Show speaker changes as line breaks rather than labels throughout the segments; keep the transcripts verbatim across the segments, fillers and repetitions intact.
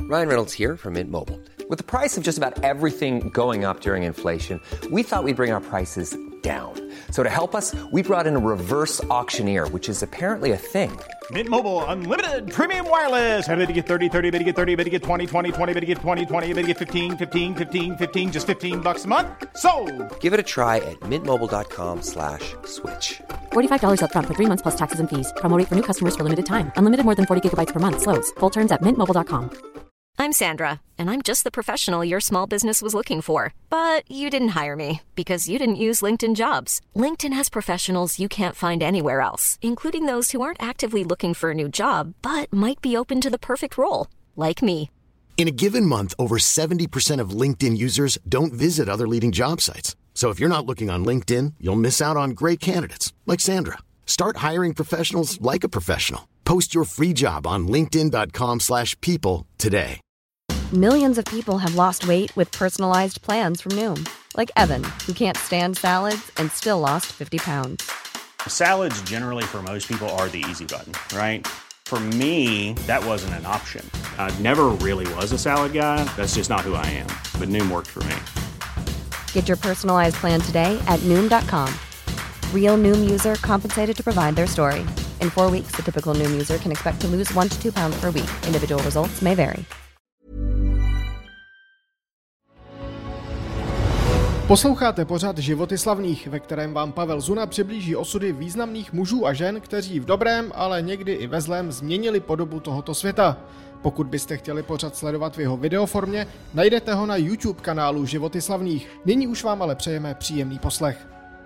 Ryan Reynolds here from Mint Mobile. With the price of just about everything going up during inflation, we thought we'd bring our prices down. So to help us, we brought in a reverse auctioneer, which is apparently a thing.
Mint Mobile Unlimited Premium Wireless. How to get thirty, thirty, how to get thirty, how to get twenty, twenty, twenty, how to get twenty, twenty, how to get fifteen, fifteen, fifteen, fifteen, just fifteen bucks a month? Sold!
Give it a try at mintmobile.com slash switch.
forty-five dollars up front for three months plus taxes and fees. Promo rate for new customers for limited time. Unlimited more than forty gigabytes per month. Slows full terms at mint mobile dot com.
I'm Sandra, and I'm just the professional your small business was looking for. But you didn't hire me because you didn't use LinkedIn Jobs. LinkedIn has professionals you can't find anywhere else, including those who aren't actively looking for a new job, but might be open to the perfect role, like me.
In a given month, over seventy percent of LinkedIn users don't visit other leading job sites. So if you're not looking on LinkedIn, you'll miss out on great candidates like Sandra. Start hiring professionals like a professional. Post your free job on linkedin.com slash people today.
Millions of people have lost weight with personalized plans from Noom. Like Evan, who can't stand salads and still lost fifty pounds.
Salads generally for most people are the easy button, right? For me, that wasn't an option. I never really was a salad guy. That's just not who I am. But Noom worked for me.
Get your personalized plan today at noom dot com. Real Noom user compensated to provide their story. In four weeks, the typical Noom user can expect to lose one to two pounds per week. Individual results may vary.
Posloucháte pořad Životy slavných, ve kterém vám Pavel Zuna přiblíží osudy významných mužů a žen, kteří v dobrém, ale někdy i ve zlém změnili podobu tohoto světa. Pokud byste chtěli pořad sledovat v jeho videoformě, najdete ho na YouTube kanálu Životy slavných. Nyní už vám ale přejeme příjemný poslech.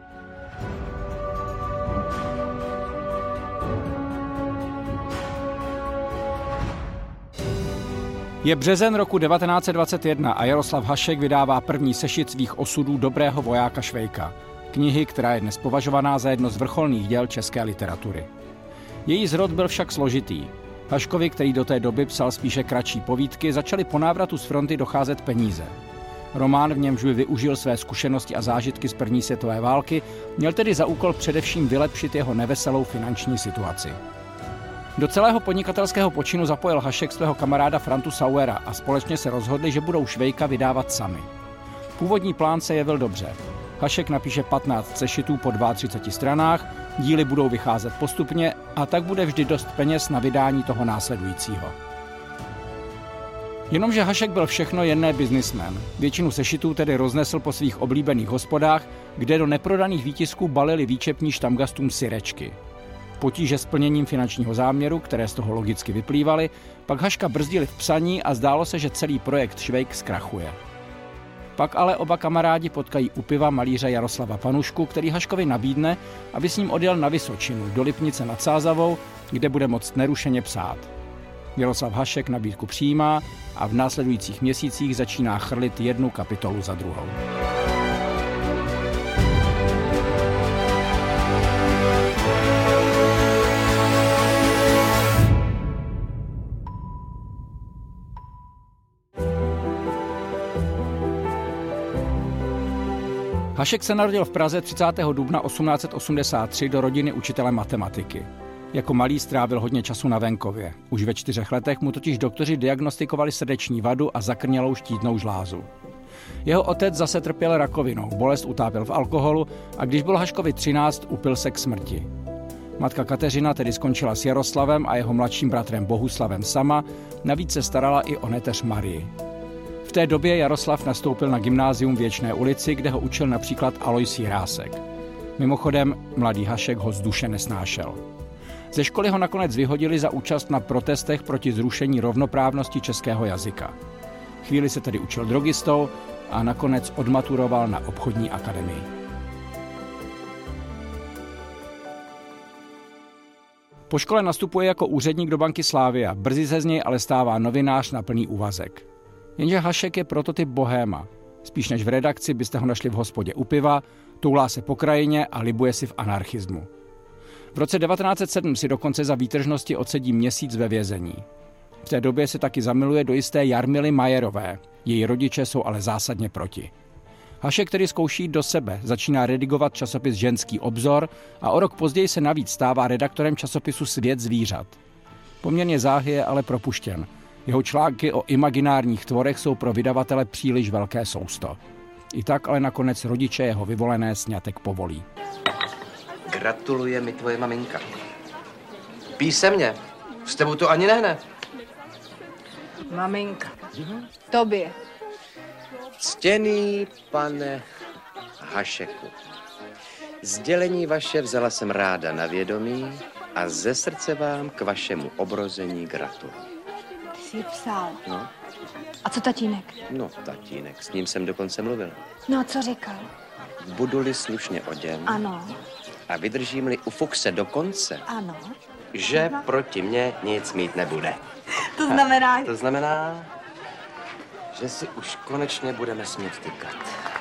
Je březen roku devatenáct set dvacet jedna a Jaroslav Hašek vydává první sešit svých osudů dobrého vojáka Švejka. Knihy, která je dnes považovaná za jedno z vrcholných děl české literatury. Její zrod byl však složitý. Haškovi, který do té doby psal spíše kratší povídky, začaly po návratu z fronty docházet peníze. Román, v němž by využil své zkušenosti a zážitky z první světové války, měl tedy za úkol především vylepšit jeho neveselou finanční situaci. Do celého podnikatelského počinu zapojil Hašek svého kamaráda Frantu Sauera a společně se rozhodli, že budou Švejka vydávat sami. Původní plán se jevil dobře. Hašek napíše patnáct sešitů po třiceti dvou stranách, díly budou vycházet postupně a tak bude vždy dost peněz na vydání toho následujícího. Jenomže Hašek byl všechno jen ne biznismen. Většinu sešitů tedy roznesl po svých oblíbených hospodách, kde do neprodaných výtisků balili výčepní štamgastům syrečky. Potíže s plněním finančního záměru, které z toho logicky vyplývaly, pak Haška brzdili v psaní a zdálo se, že celý projekt Švejk zkrachuje. Pak ale oba kamarádi potkají u piva malíře Jaroslava Panušku, který Haškovi nabídne, aby s ním odjel na Vysočinu, do Lipnice nad Sázavou, kde bude moct nerušeně psát. Jaroslav Hašek nabídku přijímá a v následujících měsících začíná chrlit jednu kapitolu za druhou. Hašek se narodil v Praze třicátého dubna osmnáct set osmdesát tři do rodiny učitele matematiky. Jako malý strávil hodně času na venkově. Už ve čtyřech letech mu totiž doktoři diagnostikovali srdeční vadu a zakrnělou štítnou žlázu. Jeho otec zase trpěl rakovinou, bolest utápěl v alkoholu a když bylo Haškovi třináct, upil se k smrti. Matka Kateřina tedy skončila s Jaroslavem a jeho mladším bratrem Bohuslavem sama, navíc se starala i o neteř Marii. V té době Jaroslav nastoupil na gymnázium v Věčné ulici, kde ho učil například Alois Jirásek. Mimochodem, mladý Hašek ho z duše nesnášel. Ze školy ho nakonec vyhodili za účast na protestech proti zrušení rovnoprávnosti českého jazyka. Chvíli se tedy učil drogistou a nakonec odmaturoval na obchodní akademii. Po škole nastupuje jako úředník do banky Slavia, brzy se z něj ale stává novinář na plný úvazek. Jenže Hašek je prototyp bohéma. Spíš než v redakci byste ho našli v hospodě u piva, toulá se po krajině a libuje si v anarchismu. V roce devatenáct set sedm si dokonce za výtržnosti odsedí měsíc ve vězení. V té době se taky zamiluje do jisté Jarmily Majerové. Její rodiče jsou ale zásadně proti. Hašek tedy zkouší do sebe, začíná redigovat časopis Ženský obzor a o rok později se navíc stává redaktorem časopisu Svět zvířat. Poměrně záhy je ale propuštěn Jeho články o imaginárních tvorech jsou pro vydavatele příliš velké sousto. I tak ale nakonec rodiče jeho vyvolené sňatek povolí.
Gratuluje mi tvoje maminka. Písemně. S tebou to ani nehne.
Maminka. Tobě.
Ctěný pane Hašeku, sdělení vaše vzala jsem ráda na vědomí a ze srdce vám k vašemu obrození gratuluji.
Ty jsi ji psal.
No.
A co tatínek?
No, tatínek, s ním jsem dokonce mluvil.
No a co říkal?
Budu-li slušně oděn
Ano.
a vydržím-li u Fuchse do konce,
Ano.
že proti mně nic mít nebude.
To znamená...
A to znamená, že si už konečně budeme smět tykat.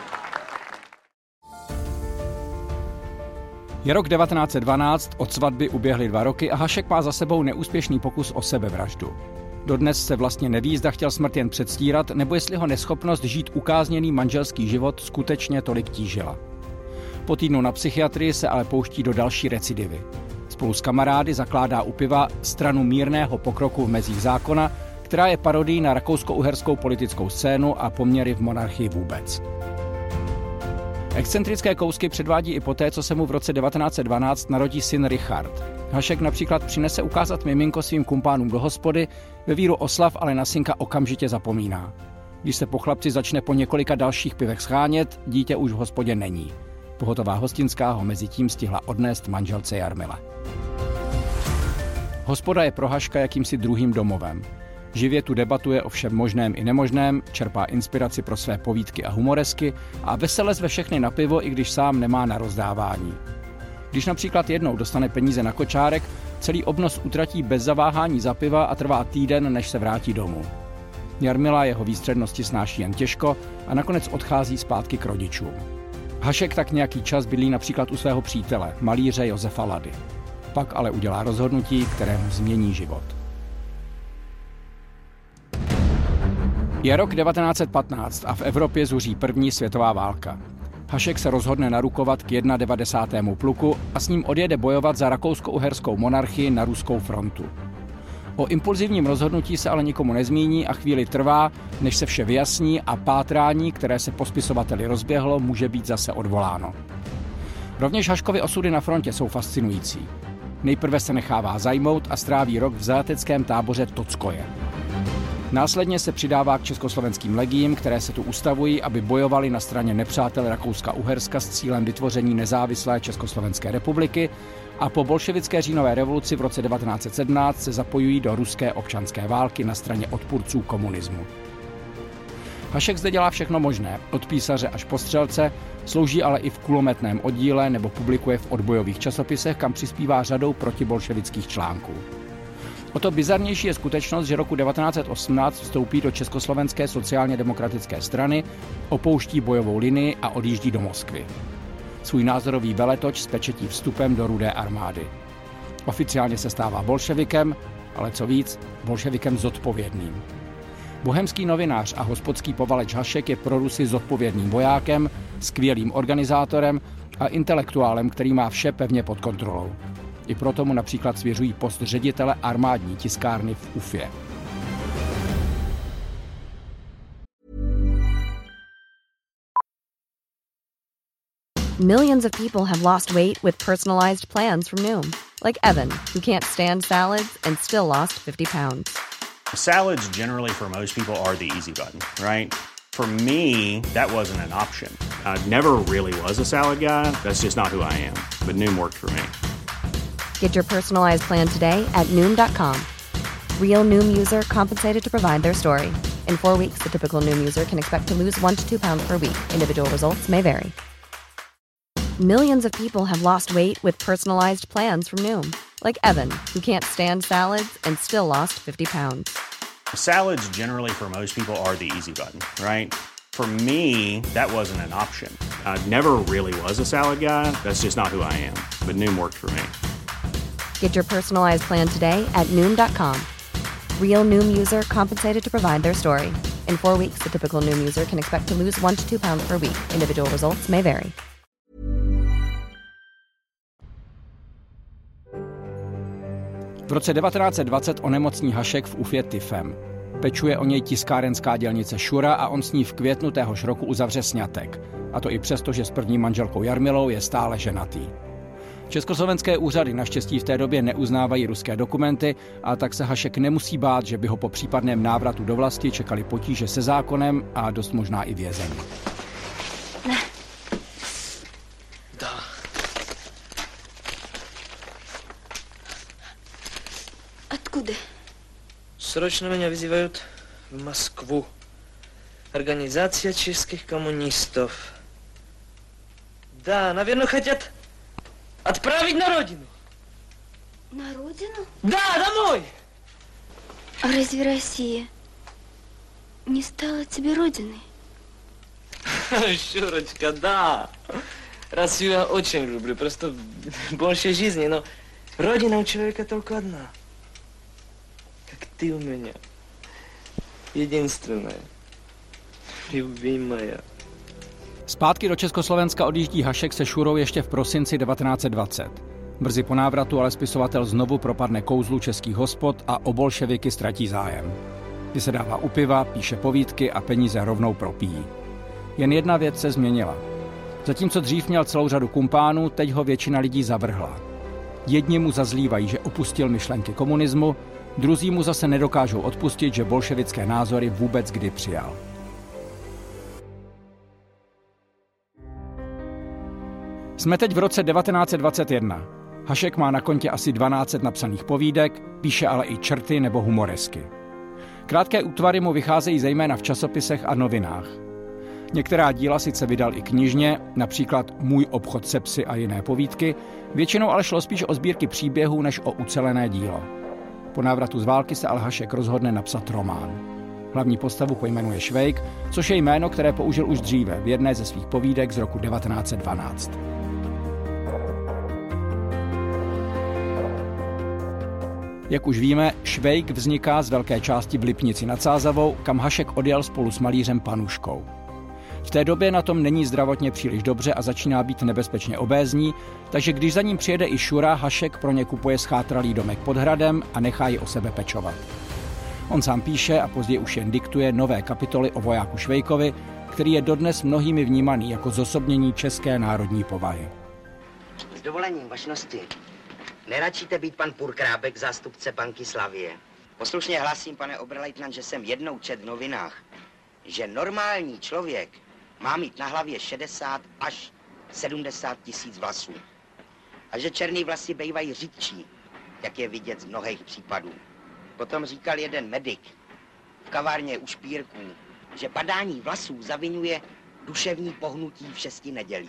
Je rok devatenáct set dvanáct, od svatby uběhly dva roky a Hašek má za sebou neúspěšný pokus o sebevraždu. Dodnes se vlastně neví, zda chtěl smrt jen předstírat, nebo jestli ho neschopnost žít ukázněný manželský život skutečně tolik tížila. Po týdnu na psychiatrii se ale pouští do další recidivy. Spolu s kamarády zakládá u piva stranu mírného pokroku v mezích zákona, která je parodií na rakousko-uherskou politickou scénu a poměry v monarchii vůbec. Excentrické kousky předvádí i poté, co se mu v roce devatenáct set dvanáct narodí syn Richard. Hašek například přinese ukázat miminko svým kumpánům do hospody, ve víru oslav ale na synka okamžitě zapomíná. Když se po chlapci začne po několika dalších pivech schánět, dítě už v hospodě není. Pohotová hostinská ho mezi tím stihla odnést manželce Jarmile. Hospoda je pro Haška jakýmsi druhým domovem. Živě tu debatuje o všem možném i nemožném, čerpá inspiraci pro své povídky a humoresky a vesele zve všechny na pivo, i když sám nemá na rozdávání. Když například jednou dostane peníze na kočárek, celý obnos utratí bez zaváhání za piva a trvá týden, než se vrátí domů. Jarmila jeho výstřednosti snáší jen těžko a nakonec odchází zpátky k rodičům. Hašek tak nějaký čas bydlí například u svého přítele, malíře Josefa Lady. Pak ale udělá rozhodnutí, které mu změní život. Je rok devatenáct set patnáct a v Evropě zuří první světová válka. Hašek se rozhodne narukovat k devadesátému pluku a s ním odjede bojovat za rakousko-uherskou monarchii na ruskou frontu. O impulzivním rozhodnutí se ale nikomu nezmíní a chvíli trvá, než se vše vyjasní a pátrání, které se po spisovateli rozběhlo, může být zase odvoláno. Rovněž Haškovy osudy na frontě jsou fascinující. Nejprve se nechává zajmout a stráví rok v zajateckém táboře Tockoje. Následně se přidává k československým legiím, které se tu ustavují, aby bojovali na straně nepřátel Rakouska-Uherska s cílem vytvoření nezávislé Československé republiky a po bolševické říjnové revoluci v roce devatenáct set sedmnáct se zapojují do ruské občanské války na straně odpůrců komunismu. Hašek zde dělá všechno možné, od písaře až po střelce, slouží ale i v kulometném oddíle nebo publikuje v odbojových časopisech, kam přispívá řadou protibolševických článků. O to bizarnější je skutečnost, že roku devatenáct set osmnáct vstoupí do Československé sociálně demokratické strany, opouští bojovou linii a odjíždí do Moskvy. Svůj názorový veletoč spečetí vstupem do Rudé armády. Oficiálně se stává bolševikem, ale co víc, bolševikem zodpovědným. Bohemský novinář a hospodský povaleč Hašek je pro Rusy zodpovědným vojákem, skvělým organizátorem a intelektuálem, který má vše pevně pod kontrolou. I proto mu například svěřují post ředitele armádní tiskárny v Ufě.
Millions of people have lost weight with personalized plans from Noom. Like Evan, who can't stand salads and still lost fifty pounds.
Salads generally for most people are the easy button, right? For me, that wasn't an option. I never really was a salad guy. That's just not who I am. But Noom worked for me.
Get your personalized plan today at Noom dot com. Real Noom user compensated to provide their story. In four weeks, the typical Noom user can expect to lose one to two pounds per week. Individual results may vary. Millions of people have lost weight with personalized plans from Noom. Like Evan, who can't stand salads and still lost fifty pounds.
Salads generally for most people are the easy button, right? For me, that wasn't an option. I never really was a salad guy. That's just not who I am. But Noom worked for me.
Get your personalized plan today at Noom dot com. Real Noom user compensated to provide their story. In four weeks, the typical Noom user can expect to lose one to two pounds per week. Individual results may vary.
V roce devatenáct set dvacet onemocní Hašek v Ufě tyfem. Pečuje o něj tiskárenská dělnice Šura a on s ní v květnu téhož roku uzavře sňatek. A to i přesto, že s první manželkou Jarmilou je stále ženatý. Československé úřady naštěstí v té době neuznávají ruské dokumenty a tak se Hašek nemusí bát, že by ho po případném návratu do vlasti čekali potíže se zákonem a dost možná i vězení.
Ne. Да. Откуда?
Срочно меня вызывают в Москву. Организация чешских коммунистов. Да, наверное, хотят отправить на родину.
На родину?
Да, домой!
А разве Россия не стала тебе родиной?
Шурочка, да. Россию я очень люблю, просто больше жизни, но родина у человека только одна. Как ты у меня. Единственная. Любимая.
Zpátky do Československa odjíždí Hašek se Šurou ještě v prosinci devatenáct set dvacet. Brzy po návratu ale spisovatel znovu propadne kouzlu českých hospod a o bolševiky ztratí zájem. Vysedává u piva, píše povídky a peníze rovnou propíjí. Jen jedna věc se změnila. Zatímco dřív měl celou řadu kumpánů, teď ho většina lidí zavrhla. Jedni mu zazlívají, že opustil myšlenky komunismu, druzí mu zase nedokážou odpustit, že bolševické názory vůbec kdy přijal. Jsme teď v roce devatenáct set dvacet jedna. Hašek má na kontě asi dvanáct set napsaných povídek, píše ale i čerty nebo humoresky. Krátké útvary mu vycházejí zejména v časopisech a novinách. Některá díla sice vydal i knižně, například Můj obchod se psy a jiné povídky, většinou ale šlo spíš o sbírky příběhů než o ucelené dílo. Po návratu z války se ale Hašek rozhodne napsat román. Hlavní postavu pojmenuje Švejk, což je jméno, které použil už dříve v jedné ze svých povídek z roku devatenáct set dvanáct. Jak už víme, Švejk vzniká z velké části v Lipnici nad Sázavou, kam Hašek odjel spolu s malířem Panuškou. V té době na tom není zdravotně příliš dobře a začíná být nebezpečně obézní, takže když za ním přijede i Šura, Hašek pro ně kupuje schátralý domek pod hradem a nechá ji o sebe pečovat. On sám píše a později už jen diktuje nové kapitoly o vojáku Švejkovi, který je dodnes mnohými vnímaný jako zosobnění české národní povahy.
S dovolením vašnosti, neračíte být pan Purkrábek, zástupce banky Slavie? Poslušně hlásím, pane oberleitnant, že jsem jednou čet v novinách, že normální člověk má mít na hlavě šedesát až sedmdesát tisíc vlasů. A že černý vlasy bývají řidčí, jak je vidět z mnohých případů. Potom říkal jeden medik v kavárně u Špírků, že padání vlasů zaviňuje duševní pohnutí v šesti nedělí.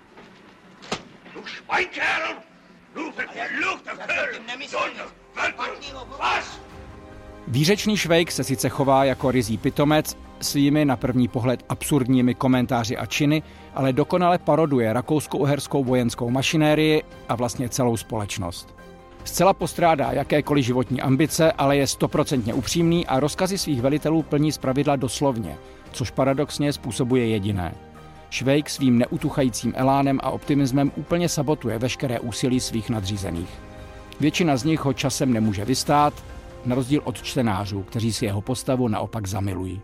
Výřečný Švejk se sice chová jako ryzí pitomec, svými na první pohled absurdními komentáři a činy, ale dokonale paroduje rakousko-uherskou vojenskou mašinérii a vlastně celou společnost. Zcela postrádá jakékoliv životní ambice, ale je stoprocentně upřímný a rozkazy svých velitelů plní zpravidla doslovně, což paradoxně způsobuje jediné. Švejk svým neutuchajícím elánem a optimismem úplně sabotuje veškeré úsilí svých nadřízených. Většina z nich ho časem nemůže vystát, na rozdíl od čtenářů, kteří si jeho postavu naopak zamilují.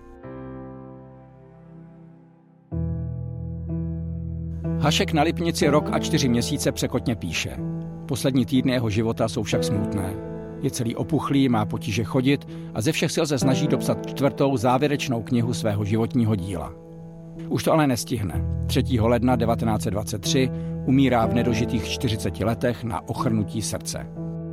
Hašek na Lipnici rok a čtyři měsíce překotně píše. Poslední týdny jeho života jsou však smutné. Je celý opuchlý, má potíže chodit a ze všech sil se snaží dopsat čtvrtou závěrečnou knihu svého životního díla. Už to ale nestihne. třetího ledna devatenáct set dvacet tři umírá v nedožitých čtyřiceti letech na ochrnutí srdce.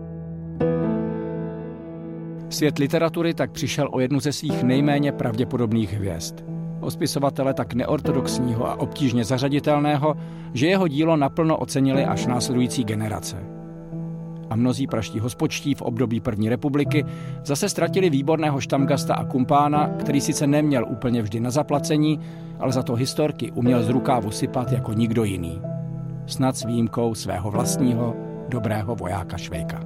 Svět literatury tak přišel o jednu ze svých nejméně pravděpodobných hvězd. O spisovatele tak neortodoxního a obtížně zařaditelného, že jeho dílo naplno ocenili až následující generace. A mnozí pražští hospočtí v období první republiky zase ztratili výborného štamgasta a kumpána, který sice neměl úplně vždy na zaplacení, ale za to historky uměl z rukávu sypat jako nikdo jiný. Snad s výjimkou svého vlastního dobrého vojáka Švejka.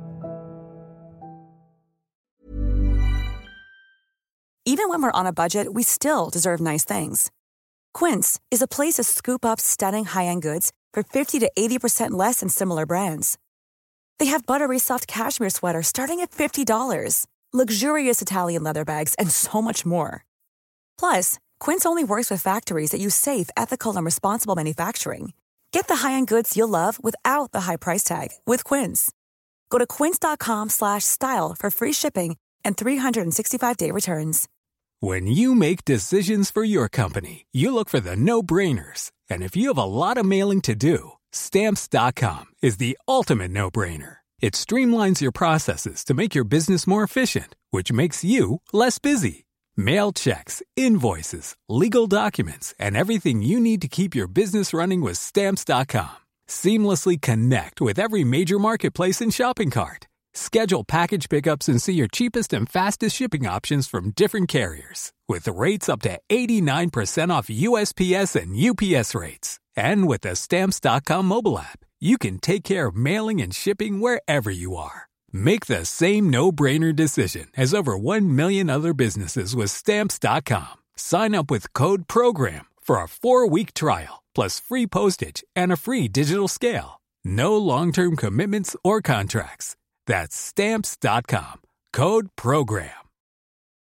Even when we're on a budget, we still deserve nice things. Quince is a place to scoop up stunning high-end goods for fifty to eighty percent less than similar brands. They have buttery soft cashmere sweaters starting at fifty dollars, luxurious Italian leather bags, and so much more. Plus, Quince only works with factories that use safe, ethical, and responsible manufacturing. Get the high-end goods you'll love without the high price tag with Quince. Go to quince.com slash style for free shipping and three sixty-five day returns.
When you make decisions for your company, you look for the no-brainers. And if you have a lot of mailing to do, Stamps dot com is the ultimate no-brainer. It streamlines your processes to make your business more efficient, which makes you less busy. Mail checks, invoices, legal documents, and everything you need to keep your business running with Stamps dot com. Seamlessly connect with every major marketplace and shopping cart. Schedule package pickups and see your cheapest and fastest shipping options from different carriers. With rates up to eighty-nine percent off U S P S and U P S rates. And with the Stamps dot com mobile app, you can take care of mailing and shipping wherever you are. Make the same no-brainer decision as over one million other businesses with Stamps dot com. Sign up with code PROGRAM for a four-week trial, plus free postage and a free digital scale. No long-term commitments or contracts. That's Stamps dot com. Code PROGRAM.